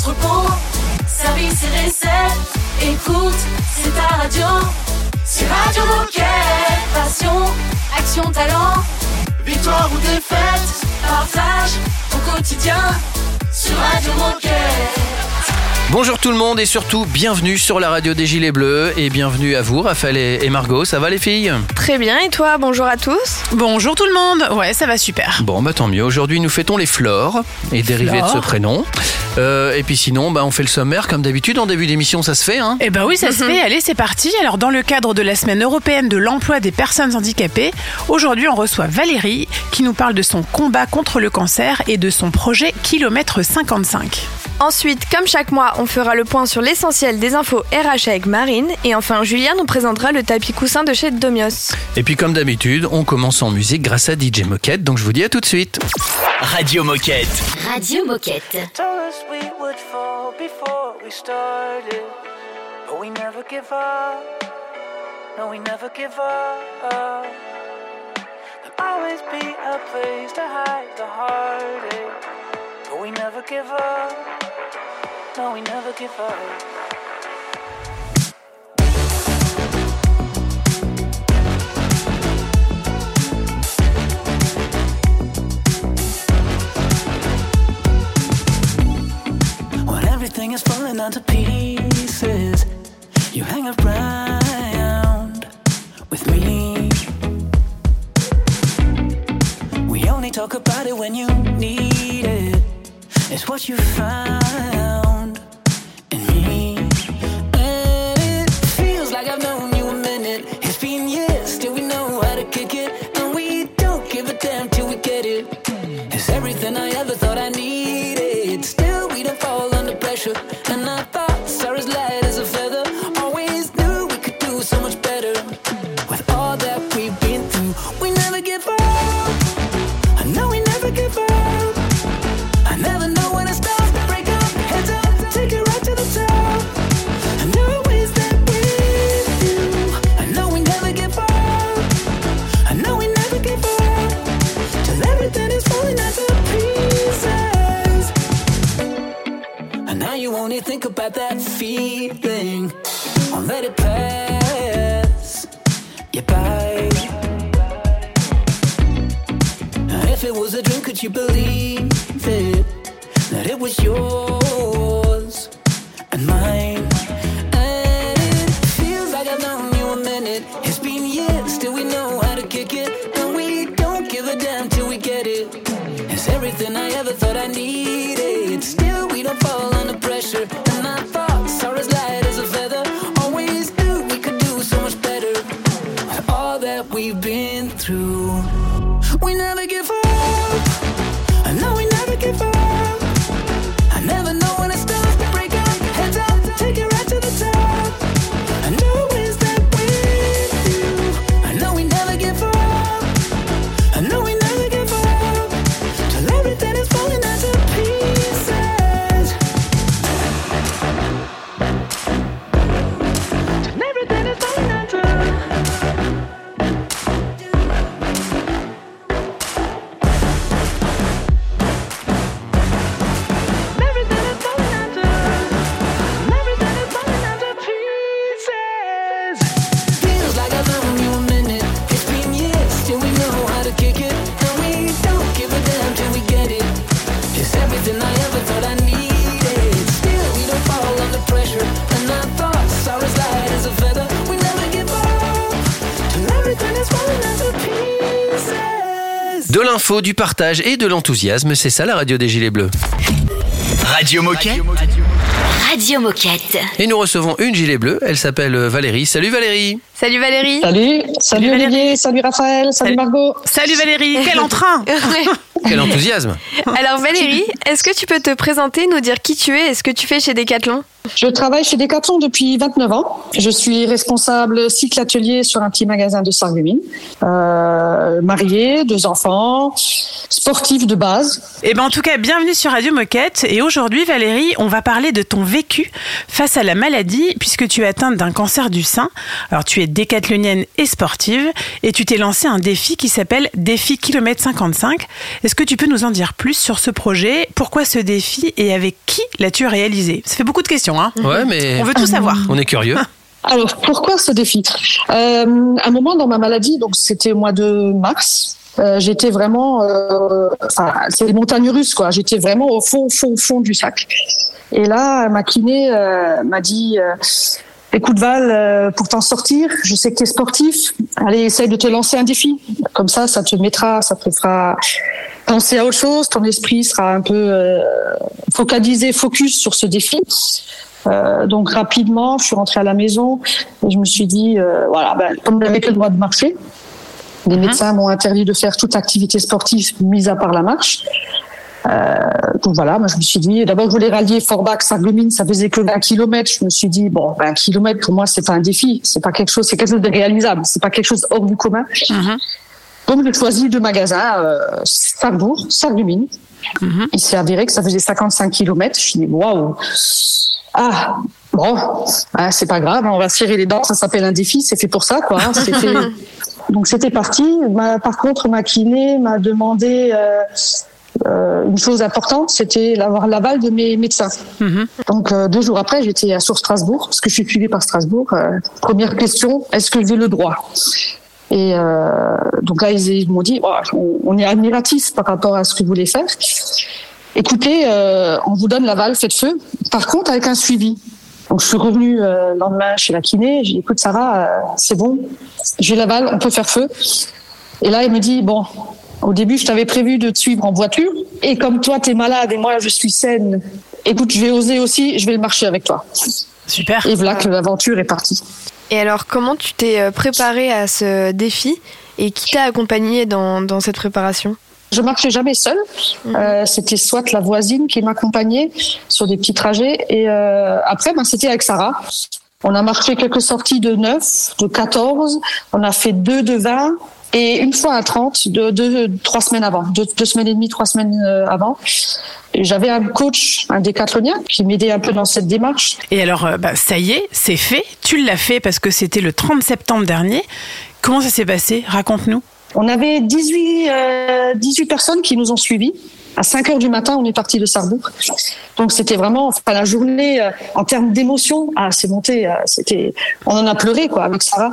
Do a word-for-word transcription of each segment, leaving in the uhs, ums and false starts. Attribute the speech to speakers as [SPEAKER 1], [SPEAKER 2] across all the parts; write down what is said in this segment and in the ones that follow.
[SPEAKER 1] entrepôt, service et recettes. Écoute, c'est ta radio. C'est Radio Moquette. Passion, action, talent. Victoire ou défaite, partage au quotidien sur Radio Moquette.
[SPEAKER 2] Bonjour tout le monde et surtout bienvenue sur la radio des Gilets Bleus et bienvenue à vous Raphaël et Margot, ça va les filles ?
[SPEAKER 3] Très bien et toi, bonjour à tous.
[SPEAKER 4] Bonjour tout le monde, ouais ça va super.
[SPEAKER 2] Bon bah tant mieux, aujourd'hui nous fêtons les Flores et dérivés de ce prénom. Euh, et puis sinon bah, on fait le sommaire comme d'habitude en début d'émission, ça se fait hein ?
[SPEAKER 4] Eh ben oui ça se fait, allez c'est parti. Alors dans le cadre de la semaine européenne de l'emploi des personnes handicapées, aujourd'hui on reçoit Valérie qui nous parle de son combat contre le cancer et de son projet Kilomètre cinquante-cinq.
[SPEAKER 3] Ensuite, comme chaque mois, on fera le point sur l'essentiel des infos R H avec Marine. Et enfin, Julien nous présentera le tapis coussin de chez Domios.
[SPEAKER 2] Et puis comme d'habitude, on commence en musique grâce à D J Moquette, donc je vous dis à tout de suite.
[SPEAKER 5] Radio Moquette.
[SPEAKER 6] Radio Moquette.
[SPEAKER 7] Always be a place to hide the heartache, but we never give up. No, we never give up. When everything is falling onto pieces, you hang around with me. We only talk about it when you need it. It's what you found in me. And it feels like I've known you a minute. It's been years, still we know how to kick it. And we don't give a damn till we get it. It's everything I ever thought I needed. Still we don't fall under pressure. And I thought Sarah's light as a feather. Always knew we could do so much better. With all that we've been through, we never give up. I know we never give up. I never know when it starts to break up. Heads up, take it right to the top. And always there with you. I know we never give up. I know we never give up. Till everything is falling into pieces. And now you only think about that feeling. Won't let it pass you by. If it was a dream, could you believe it? That it was yours and mine. And it feels like I've known you a minute. It's been years, still we know how to kick it. And we don't give a damn till we get it. It's everything I ever thought I needed. Still we don't fall under pressure. And I thought Sarah's light as a feather. Always knew we could do so much better. With all that we've been through, we never give up. I know we never give up. I never know when it starts to break up. Heads up, take it right to the top. I know it's that with you. I know we never give up. I know we never give up. Till everything is falling into pieces. Till everything is falling into.
[SPEAKER 2] De l'info, du partage et de l'enthousiasme, c'est ça la radio des Gilets Bleus.
[SPEAKER 5] Radio Moquette.
[SPEAKER 6] Radio Moquette.
[SPEAKER 2] Et nous recevons une gilet bleue, elle s'appelle Valérie. Salut Valérie.
[SPEAKER 3] Salut Valérie.
[SPEAKER 8] Salut, salut, salut Olivier, Valérie. Salut Raphaël, salut, salut Margot.
[SPEAKER 4] Salut Valérie, quel entrain.
[SPEAKER 2] Quel enthousiasme.
[SPEAKER 3] Alors Valérie, est-ce que tu peux te présenter, nous dire qui tu es et ce que tu fais chez Decathlon ?
[SPEAKER 8] Je travaille chez Decathlon depuis vingt-neuf ans. Je suis responsable cycle atelier sur un petit magasin de Sarreguemines. Euh, mariée, deux enfants, sportive de base.
[SPEAKER 4] Et ben en tout cas, bienvenue sur Radio Moquette. Et aujourd'hui, Valérie, on va parler de ton vécu face à la maladie, puisque tu es atteinte d'un cancer du sein. Alors, tu es décathlonienne et sportive, et tu t'es lancé un défi qui s'appelle Défi Kilomètre cinquante-cinq. Est-ce que tu peux nous en dire plus sur ce projet ? Pourquoi ce défi et avec qui l'as-tu réalisé ? Ça fait beaucoup de questions, hein ?
[SPEAKER 2] Ouais, mais
[SPEAKER 4] on veut tout savoir.
[SPEAKER 2] On est curieux.
[SPEAKER 8] Alors, pourquoi ce défi ? euh, Un moment dans ma maladie, donc c'était au mois de mars, euh, j'étais vraiment... Euh, enfin, c'est les montagnes russes, quoi. J'étais vraiment au fond, fond, fond du sac. Et là, ma kiné euh, m'a dit... Euh, Écoute Val, euh, pour t'en sortir, je sais que tu es sportif, allez, essaye de te lancer un défi. Comme ça, ça te mettra, ça te fera penser à autre chose, ton esprit sera un peu euh, focalisé, focus sur ce défi. Euh, donc rapidement, je suis rentrée à la maison et je me suis dit, euh, voilà, ben, comme je n'avais que le droit de marcher, les médecins m'ont interdit de faire toute activité sportive, mis à part la marche. Euh, donc voilà, moi je me suis dit, d'abord je voulais rallier Forbach, Sarreguemines, ça faisait que vingt kilomètres. Je me suis dit, bon, vingt kilomètres pour moi c'est pas un défi, c'est pas quelque chose, c'est quelque chose de réalisable, c'est pas quelque chose hors du commun. Mm-hmm. Donc j'ai choisi deux magasins, euh, Sarrebourg, Sarreguemines. Mm-hmm. Il s'est avéré que ça faisait cinquante-cinq kilomètres. Je me suis dit, waouh, ah, bon, hein, c'est pas grave, on va se serrer les dents, ça s'appelle un défi, c'est fait pour ça, quoi. Hein, c'est fait... Donc c'était parti. Ma, par contre, ma kiné m'a demandé. Euh, Euh, une chose importante, c'était d'avoir l'aval de mes médecins. Mmh. Donc euh, deux jours après, j'étais sur Strasbourg, parce que je suis suivie par Strasbourg. Euh, première question, est-ce que j'ai le droit ? Et euh, donc là, ils, ils m'ont dit, oh, on, on est admiratifs par rapport à ce que vous voulez faire. Écoutez, euh, on vous donne l'aval, faites feu. Par contre, avec un suivi. Donc je suis revenue euh, le lendemain chez la kiné. J'ai dit, écoute Sarah, euh, c'est bon, j'ai l'aval, on peut faire feu. Et là, il me dit, bon. Au début, je t'avais prévu de te suivre en voiture. Et comme toi, t'es malade et moi, je suis saine, écoute, je vais oser aussi, je vais le marcher avec toi.
[SPEAKER 4] Super.
[SPEAKER 8] Et voilà que l'aventure est partie.
[SPEAKER 3] Et alors, comment tu t'es préparée à ce défi et qui t'a accompagnée dans, dans cette préparation ?
[SPEAKER 8] Je marchais jamais seule. Mmh. Euh, c'était soit la voisine qui m'accompagnait sur des petits trajets. Et euh, après, ben, c'était avec Sarah. On a marché quelques sorties de neuf, de quatorze. On a fait deux de vingt. Et une fois à trente, deux, deux, trois semaines avant, deux, deux semaines et demie, trois semaines avant, j'avais un coach, un décathlonien, qui m'aidait un peu dans cette démarche.
[SPEAKER 4] Et alors, bah, ça y est, c'est fait. Tu l'as fait parce que c'était le trente septembre dernier. Comment ça s'est passé ? Raconte-nous.
[SPEAKER 8] On avait dix-huit, euh, dix-huit personnes qui nous ont suivis. À cinq heures du matin, on est parti de Sarrebourg. Donc c'était vraiment, enfin, la journée, euh, en termes d'émotion, ah, c'est monté, euh, c'était, on en a pleuré, quoi, avec Sarah.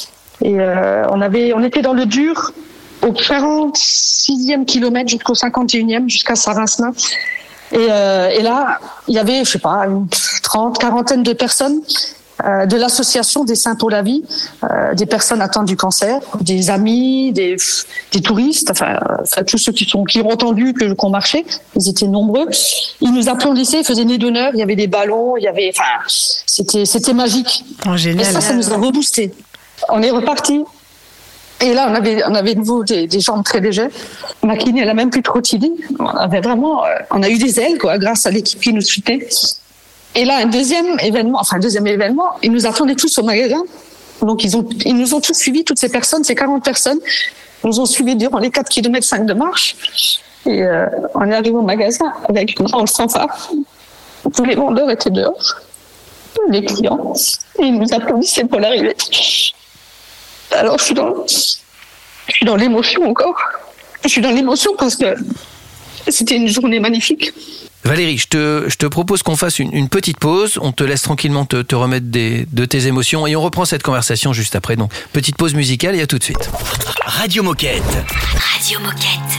[SPEAKER 8] Et euh, on avait, on était dans le dur au quarante-sixième kilomètre jusqu'au cinquante et unième, jusqu'à Sarassin. Et, euh, et là, il y avait, je sais pas, une trente, quarantaine de personnes euh, de l'association des Saints pour la vie, euh, des personnes atteintes du cancer, des amis, des, des touristes, enfin, enfin tous ceux qui sont qui ont entendu que qu'on marchait, ils étaient nombreux. Ils nous applaudissaient, ils faisaient nez d'honneur, il y avait des ballons, il y avait, enfin, c'était, c'était magique.
[SPEAKER 4] Oh, génial.
[SPEAKER 8] Et ça, ça nous a reboosté. On est reparti. Et là, on avait, on avait de nouveau des, des jambes très légères. Ma kiné, elle a même plus trottiner. On avait vraiment, on a eu des ailes, quoi, grâce à l'équipe qui nous suivait. Et là, un deuxième événement, enfin, un deuxième événement, ils nous attendaient tous au magasin. Donc, ils ont, ils nous ont tous suivis, toutes ces personnes, ces quarante personnes, nous ont suivis durant les quatre kilomètres cinq de marche. Et, euh, on est arrivé au magasin avec une grande fanfare. Tous les vendeurs étaient dehors. Les clients. Et ils nous applaudissaient pour l'arrivée. Alors, je suis dans, je suis dans l'émotion encore. Je suis dans l'émotion parce que c'était une journée magnifique.
[SPEAKER 2] Valérie, je te, je te propose qu'on fasse une, une petite pause. On te laisse tranquillement te, te remettre des, de tes émotions et on reprend cette conversation juste après. Donc, petite pause musicale et à tout de suite.
[SPEAKER 5] Radio Moquette.
[SPEAKER 6] Radio Moquette.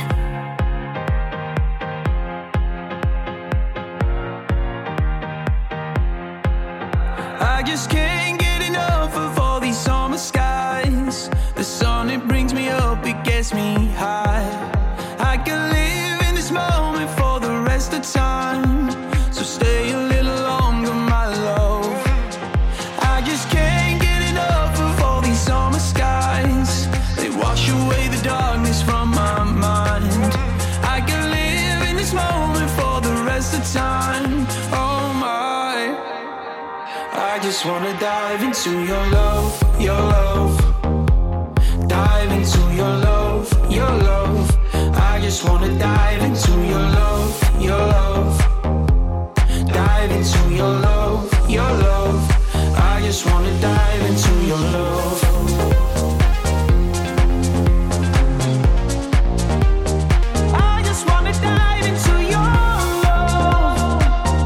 [SPEAKER 7] I just can't get enough of all these summer skies. The sun, it brings me up, it gets me high. I can live in this moment for the rest of time. So stay a little longer, my love. I just can't get enough of all these summer skies. They wash away the darkness from my mind. I can live in this moment for the rest of time. Oh my. just wanna dive into your love, your love. Dive into your love, your love. I just wanna dive into your love, your love. Dive into your love, your love. I just wanna dive into your love. I just wanna dive into your love.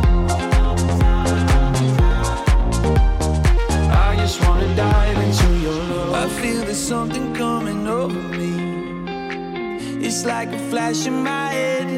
[SPEAKER 7] I just wanna dive into your love. I feel there's something coming over me. It's like a flash in my head.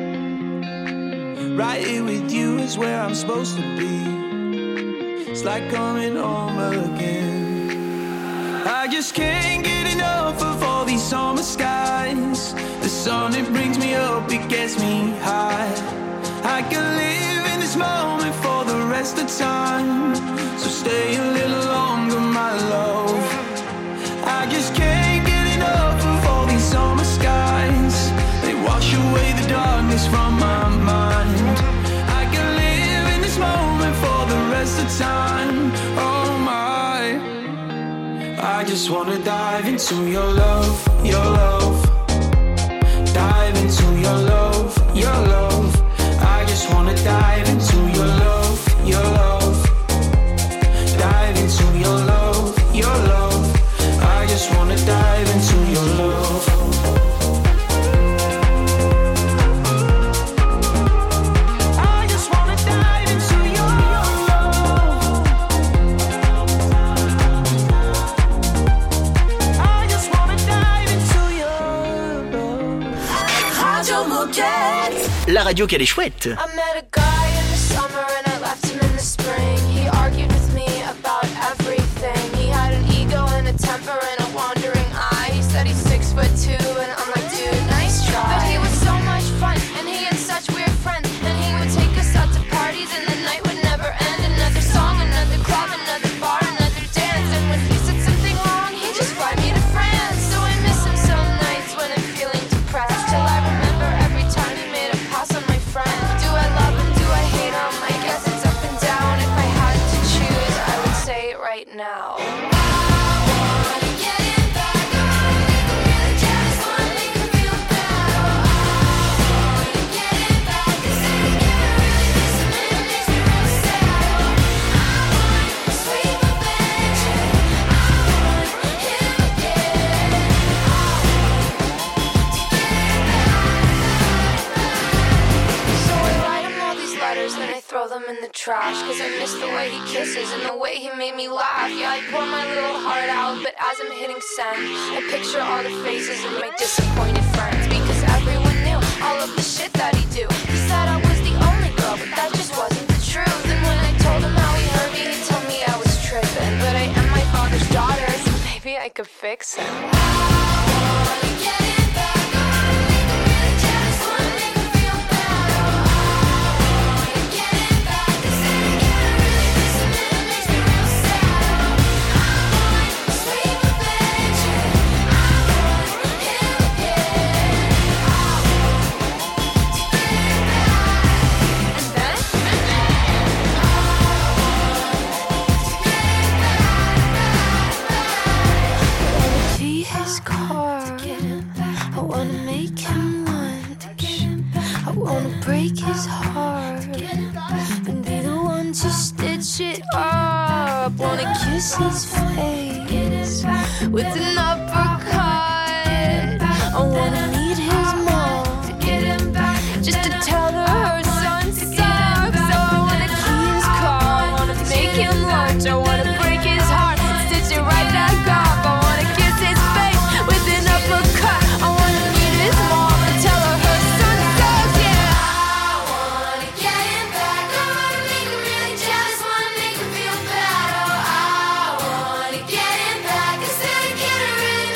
[SPEAKER 7] Right here with you is where I'm supposed to be. It's like coming home again. I just can't get enough of all these summer skies. The sun, it brings me up, it gets me high. I can live in this moment for the rest of time. So stay a little longer, my love. I just can't get enough of all these summer skies. They wash away the darkness from my mind. I can live in this moment for the rest of time. Oh my, I just wanna dive into your love, your love. Dive into your love, your love. I just wanna dive into your love, your love. Dive into your love, your love. I just wanna dive into your love. I just wanna dive into your love. I just wanna dive into your love.
[SPEAKER 1] Radio Moquette.
[SPEAKER 5] La radio qu'elle est chouette.
[SPEAKER 9] I met a guy in the summer and I left him in the spring. He argued with me about everything. He had an ego and a temper and a wandering eye. He said he's six foot two and I'm like, dude, nice try. But he was so much fun and he had such weird friends. And he would take us out to parties and the night would never end. Another song, another club, another bar, another dance. And when he said something wrong, he'd just fly me to France. So I miss him some nights when I'm feeling depressed. Till I remember every time he made a pass on my friend. Do I love him? Do I hate him? I guess it's up and down. If I had to choose, I would say it right now. Throw them in the trash, cause I miss the way he kisses and the way he made me laugh. Yeah, I pour my little heart out, but as I'm hitting send, I picture all the faces of my disappointed friends. Because everyone knew all of the shit that he do. He said I was the only girl, but that just wasn't the truth. And when I told him how he hurt me, he told me I was tripping. But I am my father's daughter, so maybe I could fix him. Break his heart and be the one to stitch it up. Wanna kiss his face with an uppercut. I wanna meet his mom just to tell her her son sucks. So I wanna key his car, I wanna make him lunch, I wanna break his heart, stitch it right back up. I wanna kiss his face with an uppercut. I wanna meet his mom and tell her her son sucks. Yeah. Really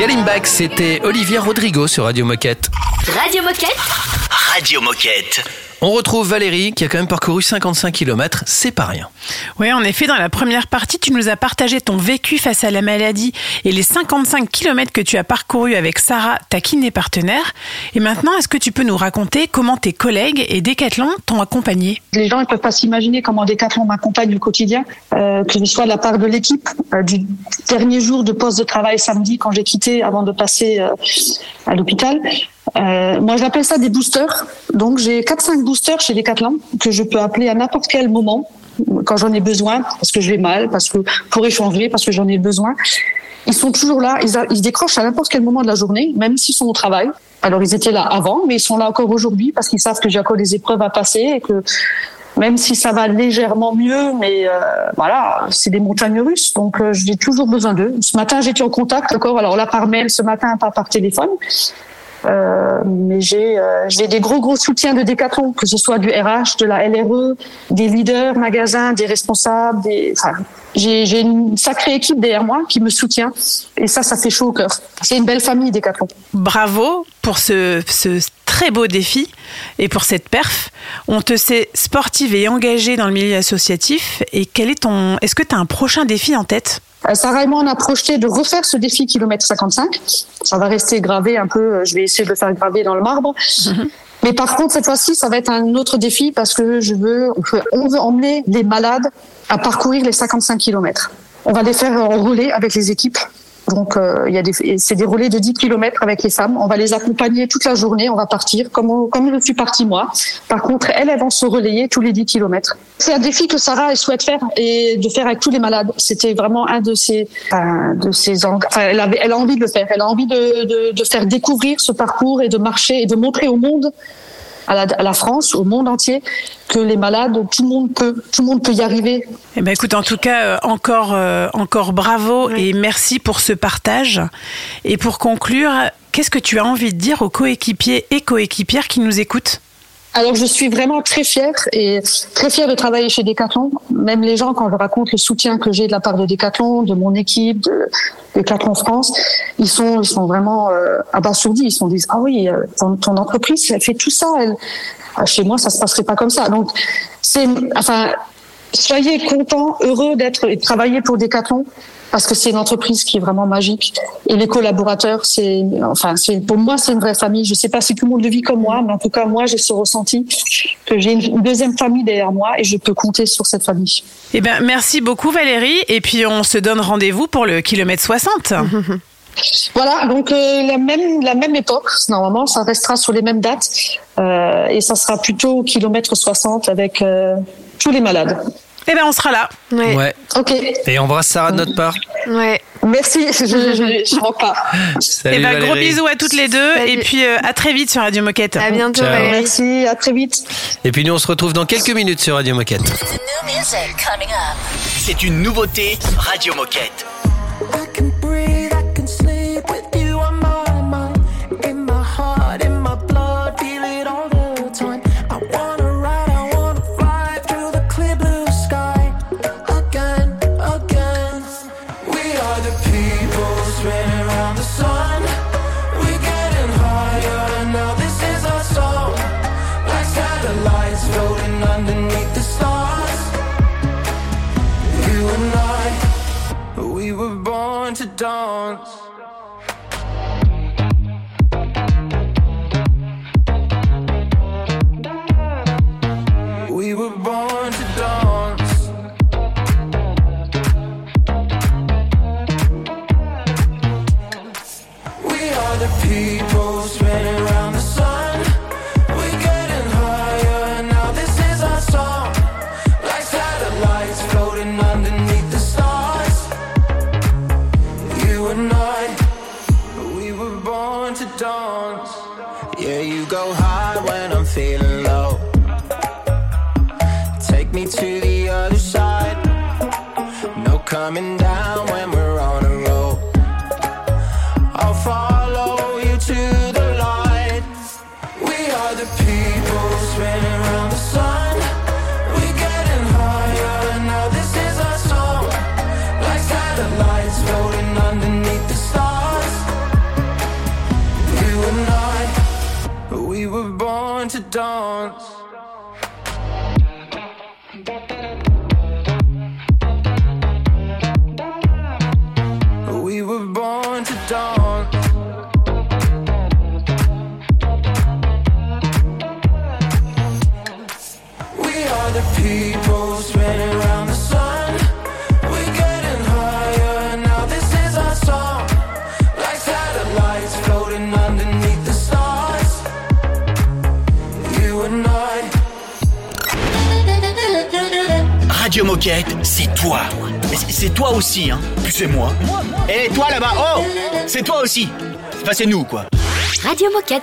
[SPEAKER 2] Galimbax, c'était Olivia Rodrigo sur Radio Moquette.
[SPEAKER 6] Radio Moquette.
[SPEAKER 5] Radio Moquette.
[SPEAKER 2] On retrouve Valérie qui a quand même parcouru cinquante-cinq kilomètres, c'est pas rien.
[SPEAKER 4] Oui, en effet, dans la première partie, tu nous as partagé ton vécu face à la maladie et les cinquante-cinq kilomètres que tu as parcourus avec Sarah, ta kiné partenaire. Et maintenant, est-ce que tu peux nous raconter comment tes collègues et Decathlon t'ont accompagné ?
[SPEAKER 8] Les gens ne peuvent pas s'imaginer comment Decathlon m'accompagne au quotidien, euh, que ce soit de la part de l'équipe, euh, du dernier jour de poste de travail samedi quand j'ai quitté avant de passer euh, à l'hôpital. Euh, moi, j'appelle ça des boosters. Donc, j'ai quatre cinq boosters chez Decathlon que je peux appeler à n'importe quel moment quand j'en ai besoin, parce que je vais mal, parce que pour échanger, parce que j'en ai besoin. Ils sont toujours là. Ils, a, ils décrochent à n'importe quel moment de la journée, même s'ils sont au travail. Alors, ils étaient là avant, mais ils sont là encore aujourd'hui parce qu'ils savent que j'ai encore des épreuves à passer et que même si ça va légèrement mieux, mais euh, voilà, c'est des montagnes russes, donc euh, j'ai toujours besoin d'eux. Ce matin, j'étais en contact encore. Alors là, par mail, ce matin, pas par téléphone. Euh, mais j'ai euh, j'ai des gros gros soutiens de Decathlon, que ce soit du R H, de la L R E, des leaders magasins, des responsables, des enfin j'ai j'ai une sacrée équipe derrière moi qui me soutient et ça ça fait chaud au cœur. C'est une belle famille Decathlon.
[SPEAKER 4] Bravo pour ce ce très beau défi et pour cette perf. On te sait sportive et engagée dans le milieu associatif et quel est ton est-ce que tu as un prochain défi en tête ?
[SPEAKER 8] Sarah et moi, on a projeté de refaire ce défi kilomètre cinquante-cinq. Ça va rester gravé un peu. Je vais essayer de le faire graver dans le marbre. Mm-hmm. Mais par contre, cette fois-ci, ça va être un autre défi parce que je veux, on veut emmener les malades à parcourir les cinquante-cinq kilomètres. On va les faire en relais avec les équipes. Donc, euh, il y a des, c'est des relais de dix kilomètres avec les femmes. On va les accompagner toute la journée. On va partir comme, on, comme je suis partie moi. Par contre, elles, elles vont se relayer tous les dix kilomètres. C'est un défi que Sarah elle souhaite faire et de faire avec tous les malades. C'était vraiment un de ses, un de ses, enfin, elle avait, elle a envie de le faire. Elle a envie de, de, de faire découvrir ce parcours et de marcher et de montrer au monde, à la, à la France, au monde entier, que les malades, tout le monde peut, tout le monde peut y arriver.
[SPEAKER 4] Eh ben écoute, en tout cas, euh, encore, euh, encore bravo oui. Et merci pour ce partage. Et pour conclure, qu'est-ce que tu as envie de dire aux coéquipiers et coéquipières qui nous écoutent ?
[SPEAKER 8] Alors, je suis vraiment très fière et très fière de travailler chez Decathlon. Même les gens, quand je raconte le soutien que j'ai de la part de Decathlon, de mon équipe, de Decathlon France, ils sont, ils sont vraiment euh, abasourdis. Ils se disent ah oui, euh, ton, ton entreprise, elle fait tout ça. Elle... Ah, chez moi, ça se passerait pas comme ça. Donc, c'est, enfin, soyez contents, heureux d'être et de travailler pour Decathlon. Parce que c'est une entreprise qui est vraiment magique. Et les collaborateurs, c'est, enfin, c'est, pour moi, c'est une vraie famille. Je sais pas si tout le monde le vit comme moi, mais en tout cas, moi, j'ai ce ressenti que j'ai une deuxième famille derrière moi et je peux compter sur cette famille.
[SPEAKER 4] Eh ben, merci beaucoup, Valérie. Et puis, on se donne rendez-vous pour le kilomètre soixante.
[SPEAKER 8] Voilà, donc euh, la même la même époque, normalement, ça restera sur les mêmes dates euh, et ça sera plutôt au kilomètre soixante avec euh, tous les malades.
[SPEAKER 4] Eh ben, on sera là.
[SPEAKER 2] Ouais. ouais.
[SPEAKER 8] Ok.
[SPEAKER 2] Et embrasse Sarah de notre part.
[SPEAKER 3] Ouais.
[SPEAKER 8] Merci. Je je, je rentre pas.
[SPEAKER 2] Salut,
[SPEAKER 4] eh ben,
[SPEAKER 2] Valérie.
[SPEAKER 4] Gros bisous à toutes les deux.
[SPEAKER 3] Salut.
[SPEAKER 4] Et puis euh, à très vite sur Radio Moquette.
[SPEAKER 3] À bientôt.
[SPEAKER 2] Ciao.
[SPEAKER 3] Valérie.
[SPEAKER 8] Merci. À très vite.
[SPEAKER 2] Et puis nous, on se retrouve dans quelques minutes sur Radio Moquette.
[SPEAKER 5] C'est une nouveauté Radio Moquette.
[SPEAKER 7] I can breathe, I can sleep with you on my mind. In my heart, in my blood, feel it all the time. I wanna ride, I wanna fly through the clear blue sky. Again, again. We are the people spinning around the sun. We're getting higher, now this is our song. Like satellites floating underneath the stars. You and I, we were born to dance. We were born to dance. We are the people spinning around the sun. We're getting higher, now this is our song. Like satellites floating underneath the stars. You and I, we were born to dance. Yeah, you go high when I'm feeling low. Take me to the other side. No coming down when we're on a roll. I'll follow you to the light. We are the people spinning around the sun. We're getting higher, now this is our song. Like satellites floating underneath the stars.
[SPEAKER 10] dance. We were born to dance. We are the people spinning around the sun. We're getting higher, now this is our song. Like satellites floating underneath the stars. You and I.
[SPEAKER 5] Radio Moquette, c'est toi. C'est- C'est toi aussi, hein. Puis c'est moi. Et toi là-bas, oh, c'est toi aussi. Enfin, c'est nous, quoi.
[SPEAKER 6] Radio Moquette.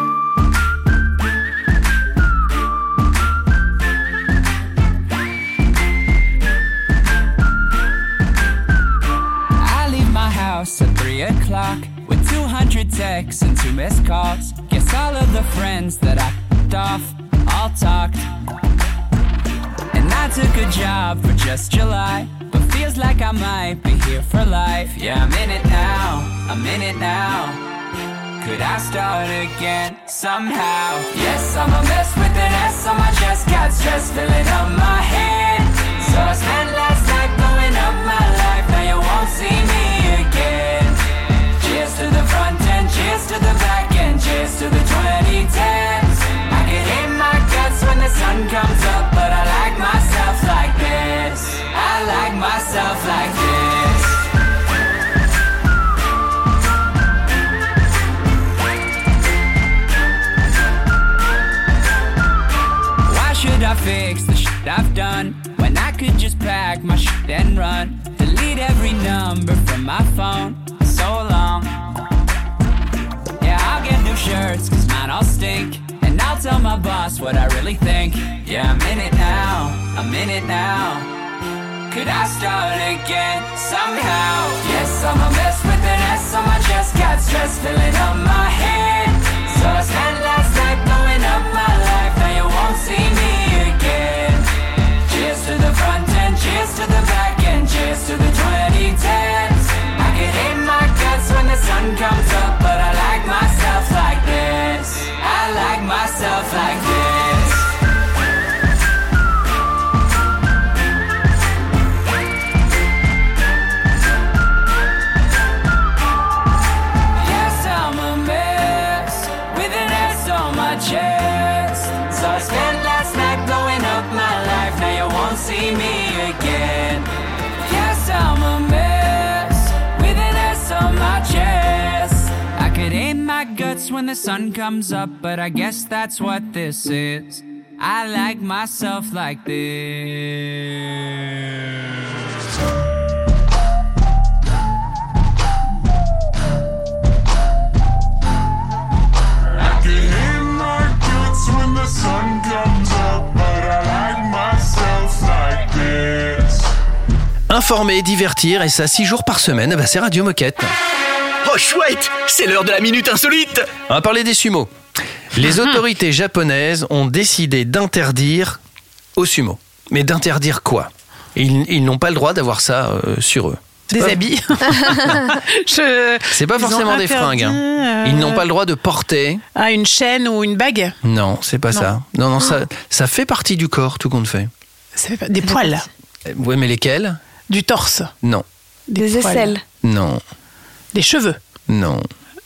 [SPEAKER 11] I leave my house at three o'clock with two hundred texts and two missed calls. Guess all of the friends that I f***ed off all talked. And I took a job for just July, but feels like I might be here for life. Yeah, I'm in it now, I'm in it now. Could I start again somehow? Yes, I'm a mess with an S on my chest. Got stress filling up my head. So I spent last night blowing up my life. Now you won't see me again. Cheers to the front end, cheers to the back end, cheers to the twenty tens. I can hate my guts when the sun comes up, but I like myself like this. I like myself like this. Why should I fix the shit I've done when I could just pack my shit and run? Delete every number from my phone. So long. Yeah, I'll get new shirts cause mine all stink. And I'll tell my boss what I really think. Yeah, I'm in it now, I'm in it now. Could I start again somehow? Yes, I'm a mess with an S on my chest. Got stress filling up my head. So I spent last night blowing up my life. Now you won't see me again. Cheers to the front end, cheers to the back end, cheers to the twenty tens. I can hate my guts when the sun comes up, but I like myself like this. I like myself like this. Yes, I'm a mess with an S on my chest. So I spent last night blowing up my life. Now you won't see me again. Yes, I'm a mess with an S on my chest. I could aim my guts when the sun comes up, but I guess that's what this is. I like myself like this.
[SPEAKER 10] I can hear my guts when the sun comes up, but I like myself like this.
[SPEAKER 2] Informer, divertir, et ça six jours par semaine, bah c'est Radio Moquette.
[SPEAKER 5] Oh, chouette, c'est l'heure de la minute insolite.
[SPEAKER 2] On va parler des sumo. Les autorités japonaises ont décidé d'interdire aux sumo. Mais d'interdire quoi ? Ils, ils n'ont pas le droit d'avoir ça euh, sur eux. C'est
[SPEAKER 4] Des
[SPEAKER 2] pas-
[SPEAKER 4] habits. Je...
[SPEAKER 2] C'est pas
[SPEAKER 4] Ils ont
[SPEAKER 2] forcément des
[SPEAKER 4] interdit,
[SPEAKER 2] fringues. hein.
[SPEAKER 4] euh,
[SPEAKER 2] Ils n'ont pas le droit de porter.
[SPEAKER 4] Ah, une chaîne ou une bague.
[SPEAKER 2] Non, c'est pas
[SPEAKER 4] Non.
[SPEAKER 2] ça. Non, non, ça, ça fait partie du corps, tout compte fait.
[SPEAKER 4] Ça fait pas- Des poils.
[SPEAKER 2] Oui, mais lesquels ?
[SPEAKER 4] Du torse.
[SPEAKER 2] Non,
[SPEAKER 3] Des
[SPEAKER 4] poils.
[SPEAKER 3] aisselles.
[SPEAKER 2] non,
[SPEAKER 4] Des cheveux.
[SPEAKER 2] non.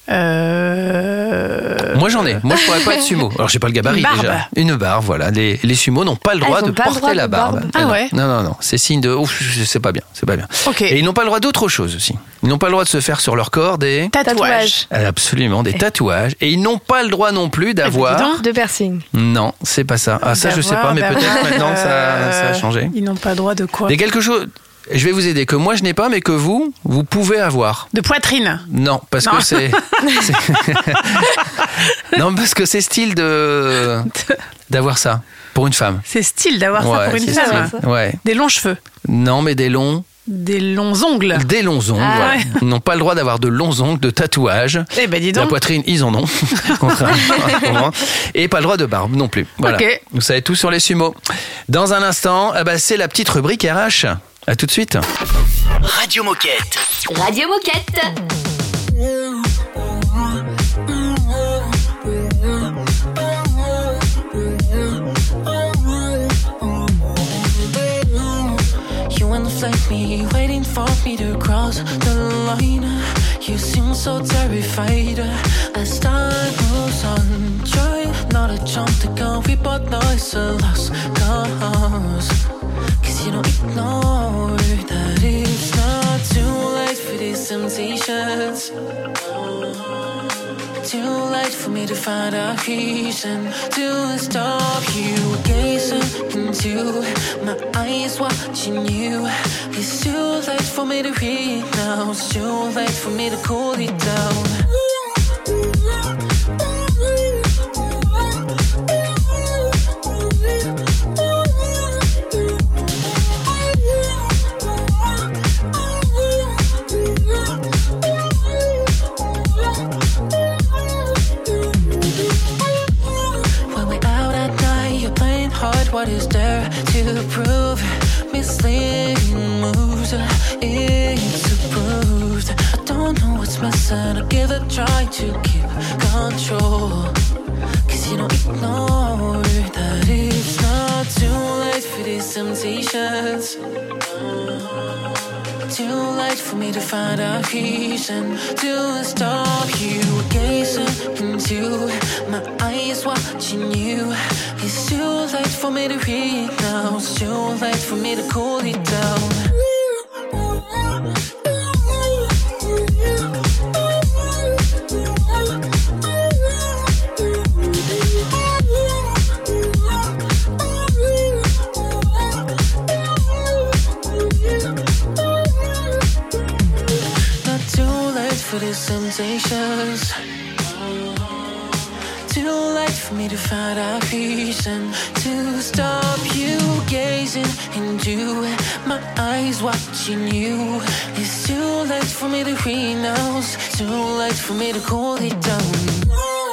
[SPEAKER 4] Euh...
[SPEAKER 2] Moi j'en ai. Moi je pourrais pas être sumo. Alors j'ai pas le gabarit
[SPEAKER 4] Une barbe.
[SPEAKER 2] déjà. Une barbe, voilà. Les, les sumos n'ont pas le
[SPEAKER 3] Ah,
[SPEAKER 2] droit
[SPEAKER 3] ils ont
[SPEAKER 2] de
[SPEAKER 3] pas le
[SPEAKER 2] porter
[SPEAKER 3] droit
[SPEAKER 2] la
[SPEAKER 3] de
[SPEAKER 2] barbe.
[SPEAKER 3] barbe.
[SPEAKER 4] Ah
[SPEAKER 2] non.
[SPEAKER 4] ouais.
[SPEAKER 2] Non, non, non. C'est signe de. Ouf, c'est pas bien. C'est pas bien.
[SPEAKER 4] Ok.
[SPEAKER 2] Et ils n'ont pas le droit d'autre chose aussi. Ils n'ont pas le droit de se faire sur leur corps des.
[SPEAKER 4] Tatouage.
[SPEAKER 2] Absolument, des tatouages. Et ils n'ont pas le droit non plus d'avoir.
[SPEAKER 4] dis donc.
[SPEAKER 3] De piercing.
[SPEAKER 2] Non, c'est pas ça. Ah, ça je sais pas, mais
[SPEAKER 4] D'avoir-
[SPEAKER 2] peut-être maintenant ça,
[SPEAKER 4] Euh,
[SPEAKER 2] ça a changé.
[SPEAKER 4] Ils n'ont pas le droit de quoi?
[SPEAKER 2] Mais quelque chose. Je vais vous aider, que moi je n'ai pas, mais que vous, vous pouvez avoir.
[SPEAKER 4] De poitrine.
[SPEAKER 2] Non, parce
[SPEAKER 4] Non.
[SPEAKER 2] que c'est. c'est- non, parce que c'est style de. d'avoir ça pour une femme.
[SPEAKER 4] C'est style d'avoir ça
[SPEAKER 2] Ouais,
[SPEAKER 4] pour une
[SPEAKER 2] c'est
[SPEAKER 4] femme.
[SPEAKER 2] style. Ouais.
[SPEAKER 4] Des longs cheveux.
[SPEAKER 2] Non, mais des longs.
[SPEAKER 4] Des longs ongles.
[SPEAKER 2] Des longs ongles,
[SPEAKER 4] Ah
[SPEAKER 2] voilà.
[SPEAKER 4] ouais.
[SPEAKER 2] Ils n'ont pas le droit d'avoir de longs ongles, de tatouages.
[SPEAKER 4] Eh ben dis
[SPEAKER 2] La
[SPEAKER 4] donc.
[SPEAKER 2] poitrine, ils en ont. Contrairement. Et pas le droit de barbe non plus. Voilà.
[SPEAKER 4] Ok.
[SPEAKER 2] Vous savez tout sur les sumos. Dans un instant, eh ben, c'est la petite rubrique R H. À tout de suite.
[SPEAKER 5] Radio Moquette.
[SPEAKER 6] Radio Moquette.
[SPEAKER 10] just like me, waiting for me to cross the line. You seem so terrified as time moves on. Try not to jump the gun, we both know it's a lost cause. Cause you don't ignore that it's not too late for these temptations. Too late for me to find a reason to stop you. Gazing into my eyes, watching you. It's too late for me to read now. It's too late for me to cool it down. What is there to prove? Misleading moves, it's approved. I don't know what's missing, I'll give it a try to keep control. Cause you don't ignore that it's not too late for these temptations. Too late for me to find a reason to stop you. Gazing into my eyes, watching you. It's too late for me to read now. It's too late for me to cool it down. For these temptations, too late for me to find a reason to stop you. Gazing into my eyes, watching you. It's too late for me to read now. It's too late for me to cool it down.